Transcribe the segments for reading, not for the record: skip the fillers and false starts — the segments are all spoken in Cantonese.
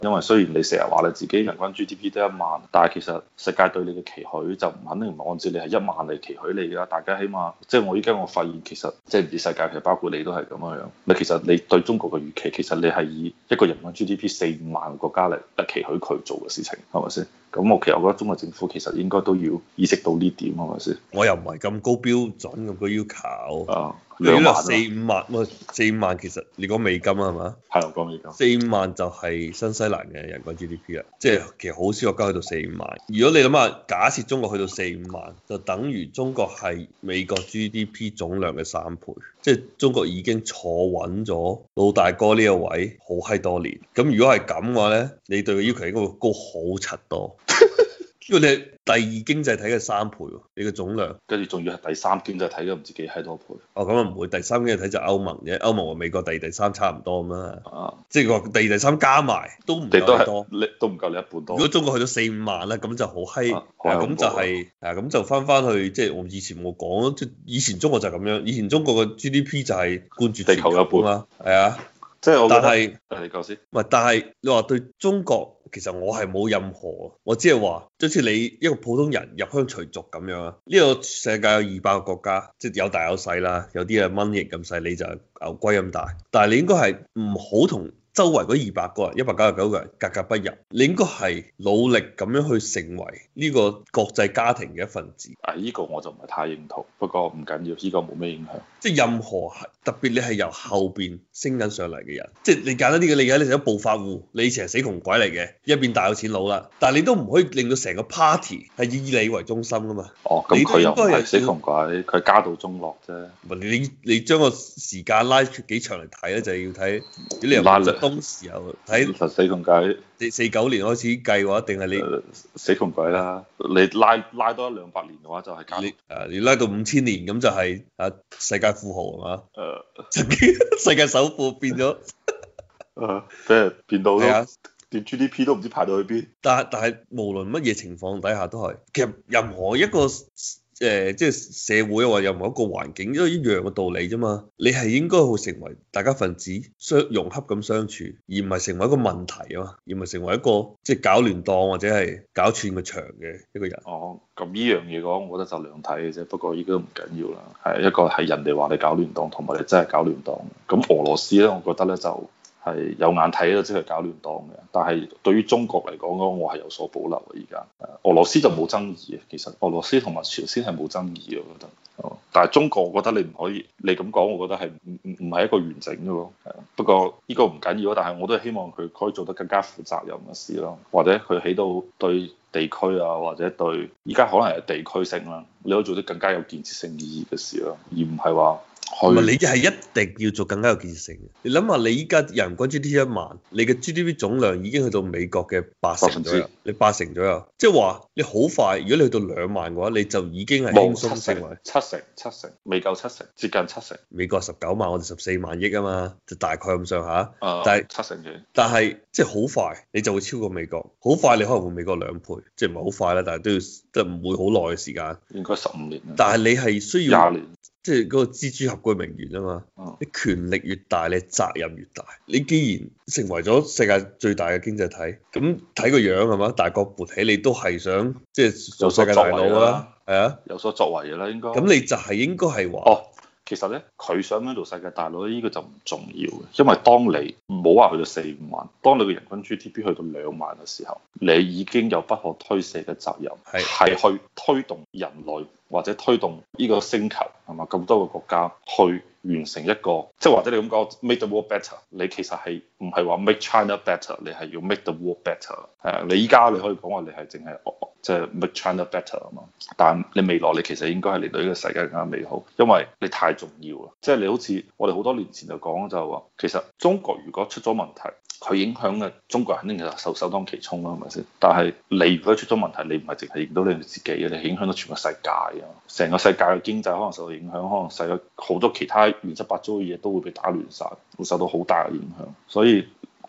因為雖然你成日話你自己人均 GDP 得1萬，但係其實世界對你嘅期許就唔肯定唔係按照你係1萬嚟期許你㗎。大家起碼即係我依家我發現其實即係唔止世界，其實包括你都係咁樣樣。你其實你對中國嘅預期，其實你係以一個人均 GDP 4-5萬嘅國家嚟期許佢做嘅事情，係咪先？咁其實我覺得中國政府其實應該都要意識到呢點，係咪先？ 我又唔係咁高標準咁高要求。 啊， 如果 2萬 4-5萬，4-5萬其實你講美金啊係嘛？ 係我講美金。 4-5萬就係新西蘭嘅人均 GDP 啊，即係其實好少國家去到4-5萬。如果你諗下，假設中國去到4-5萬，就等於中國係美國 GDP 總量嘅3倍，即係中國已經坐穩咗老大哥呢個位好閪多年。咁如果係咁嘅話咧，你對佢要求應該會高好柒多。因為你係第二經濟體嘅3倍喎，你嘅總量， 跟住仲要係第三經濟體嘅唔知幾閪多倍。 哦咁啊唔會，第三經濟體就歐盟啫，歐盟同美國第二、第三差唔多咁啦。 啊， 即係話第二、第三加埋都唔你都係夠多， 你都唔夠你一半多。 如果中國去到4-5萬咧，咁就好閪， 好咁就係咁就翻去，即係我以前冇講，即係以前中國就係咁樣，以前中國嘅 GDP 就係冠絕地球一半嘛，係啊， 即係我覺得， 但係你講先。 唔係，但係你話對中國。其實我係冇任何，我只係話，好似你一個普通人入鄉隨俗咁樣啊。呢個世界有200個國家，即係有大有細啦，有啲係蚊蠅咁細，你就係牛龜咁大。但係你應該係唔好同周圍嗰200個人、199個人格格不入，你應該係努力咁樣去成為呢個國際家庭嘅一份子。 呢個我就唔係太認同，不過唔緊要，呢個冇咩影響。 即係任何特別你係由後邊升緊上嚟嘅人，即係你簡單啲嘅理解，你成咗暴發戶，你以前係死窮鬼嚟嘅，一變大有錢佬啦。但係你都唔可以令到成個 party 係以你為中心噶嘛。 哦，咁佢又唔係死窮鬼，佢家道中落啫。 你將個時間拉幾長嚟睇咧，就係要睇你由當時候睇死窮鬼。 49年開始計嘅話，定係你死窮鬼啦！你拉多100-200年嘅話，就係你拉到5000年咁就係世界富豪係嘛？曾經世界首富變咗， 即係變到連 GDP 都唔知排到去邊。 但係無論乜嘢情況底下都係，其實任何一個即係社會或任何一個環境都一樣嘅道理啫嘛。你係應該去成為大家分子，融洽咁相處，而唔係成為一個問題啊嘛，而唔係成為一個即係搞亂檔或者係搞串個場嘅一個人。 哦，咁呢樣嘢講，我覺得就兩睇嘅啫。不過依家唔緊要啦，係一個係人哋話你搞亂檔，同埋你真係搞亂檔。咁俄羅斯咧，我覺得咧就係有眼睇咯，即係搞亂檔嘅。但係對於中國嚟講，我係有所保留嘅。而家俄羅斯就冇爭議嘅，其實俄羅斯同埋朝鮮係冇爭議嘅，我覺得。但係中國，我覺得你唔可以，你咁講，我覺得係唔係一個完整嘅咯。不過呢個唔緊要，但係我都係希望佢可以做得更加負責任嘅事咯，或者佢起到對地區啊，或者對而家可能係地區性啦，你可以做啲更加有建設性意義嘅事咯，而唔係話。 唔係，你係一定要做更加有建設性嘅。你諗下，你依家人均 GDP 1萬，你嘅 GDP 總量已經去到美國嘅80%左右，你80%左右，即係話你好快，如果你去到2萬嘅話，你就已經係輕鬆成為七成，未夠7成，接近7成。 美國19萬，我哋14萬億啊嘛，就大概咁上下。但係 7成幾。 但係即係好快，你就會超過美國。好快，你可能會美國2倍，即係唔係好快啦，但係都要即係唔會好耐嘅時間。 應該15年。 但係你係需要 20年。 即係嗰個蜘蛛俠嘅名言啊嘛，你權力越大，你責任越大。你既然成為咗世界最大嘅經濟體，咁睇個樣係嘛，大國勃起，你都係想即係做世界大佬啦，係啊， 有所作為嘅啦，應該。 咁你就係應該係話， 其實咧，佢想唔想做世界大佬呢個就唔重要嘅，因為當你唔好話去到4-5萬，當你嘅人均 GDP 去到2萬嘅時候，你已經有不可推卸嘅責任，係去推動人類或者推動呢個星球係嘛，咁多個國家去完成一個，即係或者你咁講 make the world better，你其實係唔係話 make China better，你係要 make the world better。係啊，你依家你可以講話你係淨係即係 make China better 啊嘛，但係你未來你其實應該係令到呢個世界更加美好，因為你太重要啦。即係你好似我哋好多年前就講就話，其實中國如果出咗問題，佢影響嘅中國人肯定係首當其衝啦，係咪先？但係你如果出咗問題，你唔係淨係影到你自己嘅，你影響到全個世界啊！成個世界嘅經濟可能受到影響，可能世界好多其他亂七八糟嘅嘢都會被打亂晒，會受到好大嘅影響。所以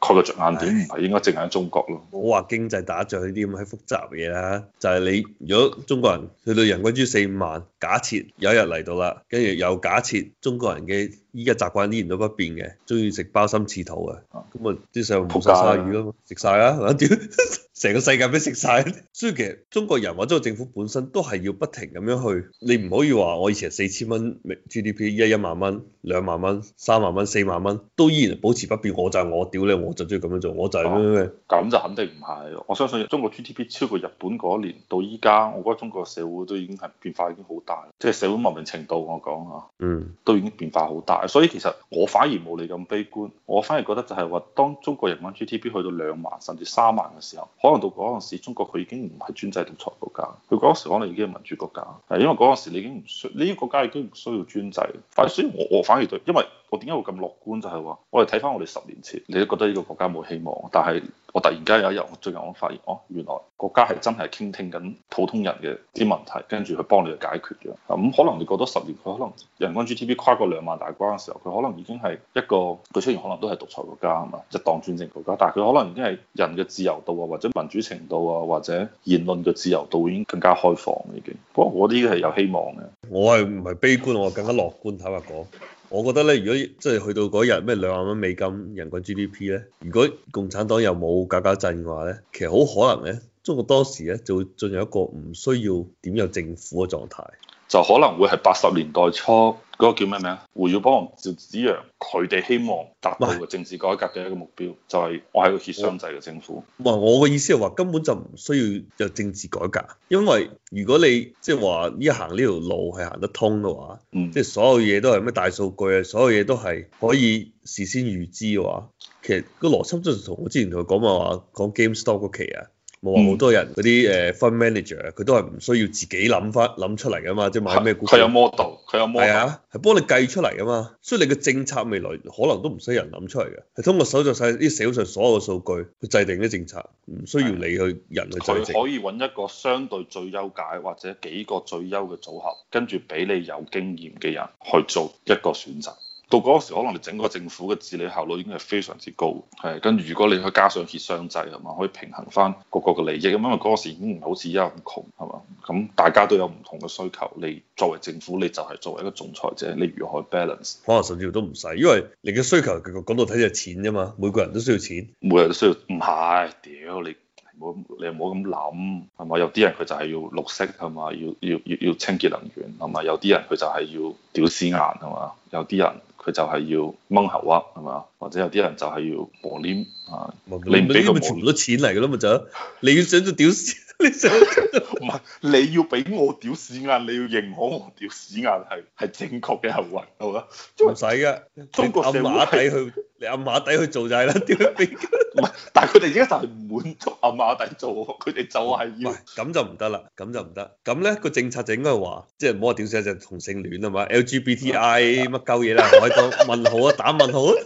佢嘅着眼點唔係應該淨係喺中國咯。 冇話經濟打仗呢啲咁閪複雜嘅嘢啦，就係你如果中國人去到人均 GDP 4-5萬，假設有一日嚟到啦，跟住又假設中國人嘅依家習慣依然都不變嘅，中意食鮑參翅肚嘅，咁啊啲細路冇晒鯊魚咯，食晒啦，屌！成個世界俾食晒，所以其實中國人或者個政府本身都係要不停咁樣去，你唔可以話我以前4000蚊 GDP，依家1萬蚊、2萬蚊、3萬蚊、4萬蚊，都依然保持不變。我就係我屌你，我就中意咁樣做，我就係咩。 咁就肯定唔係。我相信中國 GDP 超過日本嗰年到依家，我覺得中國社會都已經係變化已經好大，即係社會文明程度我講嚇，都已經變化好大。所以其實我反而冇你咁悲觀，我反而覺得就係話，當中國人均 GDP 去到2萬甚至3萬嘅時候，可能到嗰陣時中國佢已經唔係專制獨裁國家，佢嗰時可能已經係民主國家，係因為嗰陣時你已經唔需呢個國家已經唔需要專制。所以我反而對，因為我點解會咁樂觀就係話，我哋睇翻我哋10年前，你都覺得呢個國家冇希望，但係我突然間有一日，最近我發現，原來國家係真係傾聽緊普通人嘅啲問題，跟住去幫你去解決嘅。咁可能你過多10年，佢可能人均 GDP 跨過2萬大關嘅時候，佢可能已經係一個，佢雖然可能都係獨裁國家係嘛，一黨專政國家，但係佢可能已經係人嘅自由度啊，或者民主程度啊，或者言論嘅自由度已經更加開放已經。不過我啲係有希望嘅。 我係唔係悲觀，我更加樂觀。坦白講，我覺得咧，如果即係去到嗰日咩2萬蚊美金人均 GDP 咧，如果共產黨又冇搞搞震嘅話咧，其實好可能咧，中國當時咧就會進入一個唔需要點有政府嘅狀態， 就可能會係80年代初嗰個叫咩名啊？胡耀邦同趙紫陽佢哋希望達到嘅政治改革嘅一個目標，就係我係個協商制嘅政府。 我嘅意思係話根本就唔需要有政治改革，因為如果你即係話呢行呢條路係行得通嘅話，即係所有嘢都係咩大數據啊，所有嘢都係可以事先預知嘅話，其實個邏輯就同我之前同佢講話講 GameStop 嗰期啊。冇話好多人嗰啲fund manager，佢都係唔需要自己諗出嚟噶嘛，即係買咩股票。 佢有 model，佢有 model。係啊，係幫你計出嚟噶嘛，所以你嘅政策未來可能都唔使人諗出嚟嘅，係通過搜集晒啲社會上所有嘅數據去制定啲政策，唔需要你去人去制定。 佢可以揾一個相對最優解或者幾個最優嘅組合，跟住俾你有經驗嘅人去做一個選擇。到嗰時可能你整個政府嘅治理效率已經係非常之高，係跟住如果你去加上協商制係嘛，可以平衡翻各個嘅利益，咁因為嗰時已經唔係好似而家咁窮係嘛，咁大家都有唔同嘅需求，你作為政府你就係作為一個仲裁者，你如何去 balance？ 可能甚至乎都唔使，因為你嘅需求講到睇就係錢啫嘛，每個人都需要錢， 每個人都需要，唔係屌你。你又唔好咁諗係嘛？有啲人佢就係要綠色係嘛？要清潔能源係嘛？有啲人佢就係要屌屎眼係嘛？有啲人佢就係要掹喉屈係嘛？或者有啲人就係要磨黏啊！你唔俾佢全部都錢嚟㗎啦嘛就，你要想做屌屎，你想唔係你要俾我屌屎眼，你要認可我屌屎眼係正確嘅行為係嘛？ 唔使㗎，中國社會你暗馬底去做就係啦，點樣俾？ 唔係，但係佢哋而家就係唔滿足暗馬底做，佢哋就係要。 咁就唔得啦，咁就唔得。咁咧個政策就應該話，即係唔好話屌死就同性戀啊嘛 ，LGBTI 乜鳩嘢啦，我喺度問號啊，打問號啊，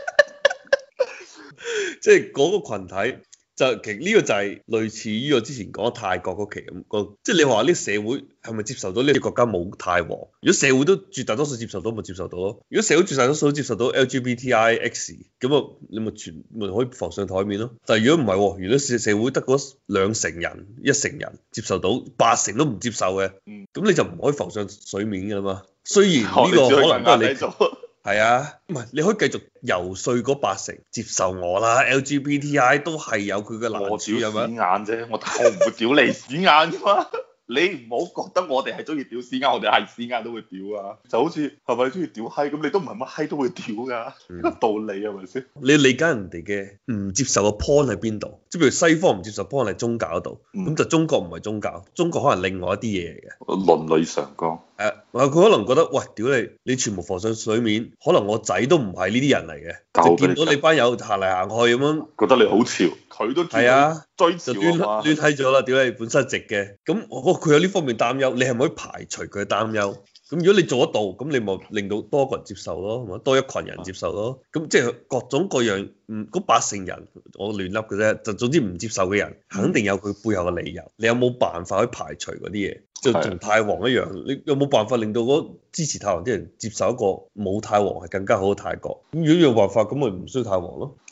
即係嗰個群體。就其實呢個就係類似於我之前講泰國嗰期咁，即係你話呢社會係咪接受到呢個國家冇太皇？如果社會都絕大多數接受到，咪接受到咯。如果社會絕大多數都接受到 LGBTIX，咁啊你咪可以浮上台面咯。但係如果唔係，如果社會得嗰2成人、1成人接受到，8成都唔接受嘅，咁你就唔可以浮上水面㗎嘛。雖然呢個可能都係你。係啊，唔係你可以繼續游說嗰8成接受我啦，LGBTI 都係有佢嘅難處係咪？ 我屌屎眼啫，我唔會屌你屎眼噶嘛。你唔好覺得我哋係中意屌屎眼，我哋係屎眼都會屌啊！就好似係咪中意屌閪咁？你都唔係乜閪都會屌噶，呢個道理係咪先？ 你理解人哋嘅唔接受嘅 point 喺邊度？即係譬如西方唔接受 point 喺宗教度，咁就中國唔係宗教，中國可能另外一啲嘢嚟嘅。 倫理上講， 佢可能覺得喂，屌你全部浮上水面，可能我仔都唔係呢啲人嚟嘅，就見到你班友行嚟行去咁樣， 覺得你好潮，佢都係啊，追潮就亂睇咗啦！屌你本身直嘅，咁佢有呢方面擔憂，你係咪可以排除佢嘅擔憂？咁如果你做得到，咁你咪令到多個人接受咯，係嘛？多一群人接受咯。咁即係各種各樣，嗰8成人我亂笠嘅啫，就總之唔接受嘅人，肯定有佢背後嘅理由。你有冇辦法去排除嗰啲嘢？就同太皇一樣，你有冇辦法令到嗰支持太皇啲人接受一個冇太皇係更加好嘅泰國？咁如果有辦法，咁咪唔需要太皇咯。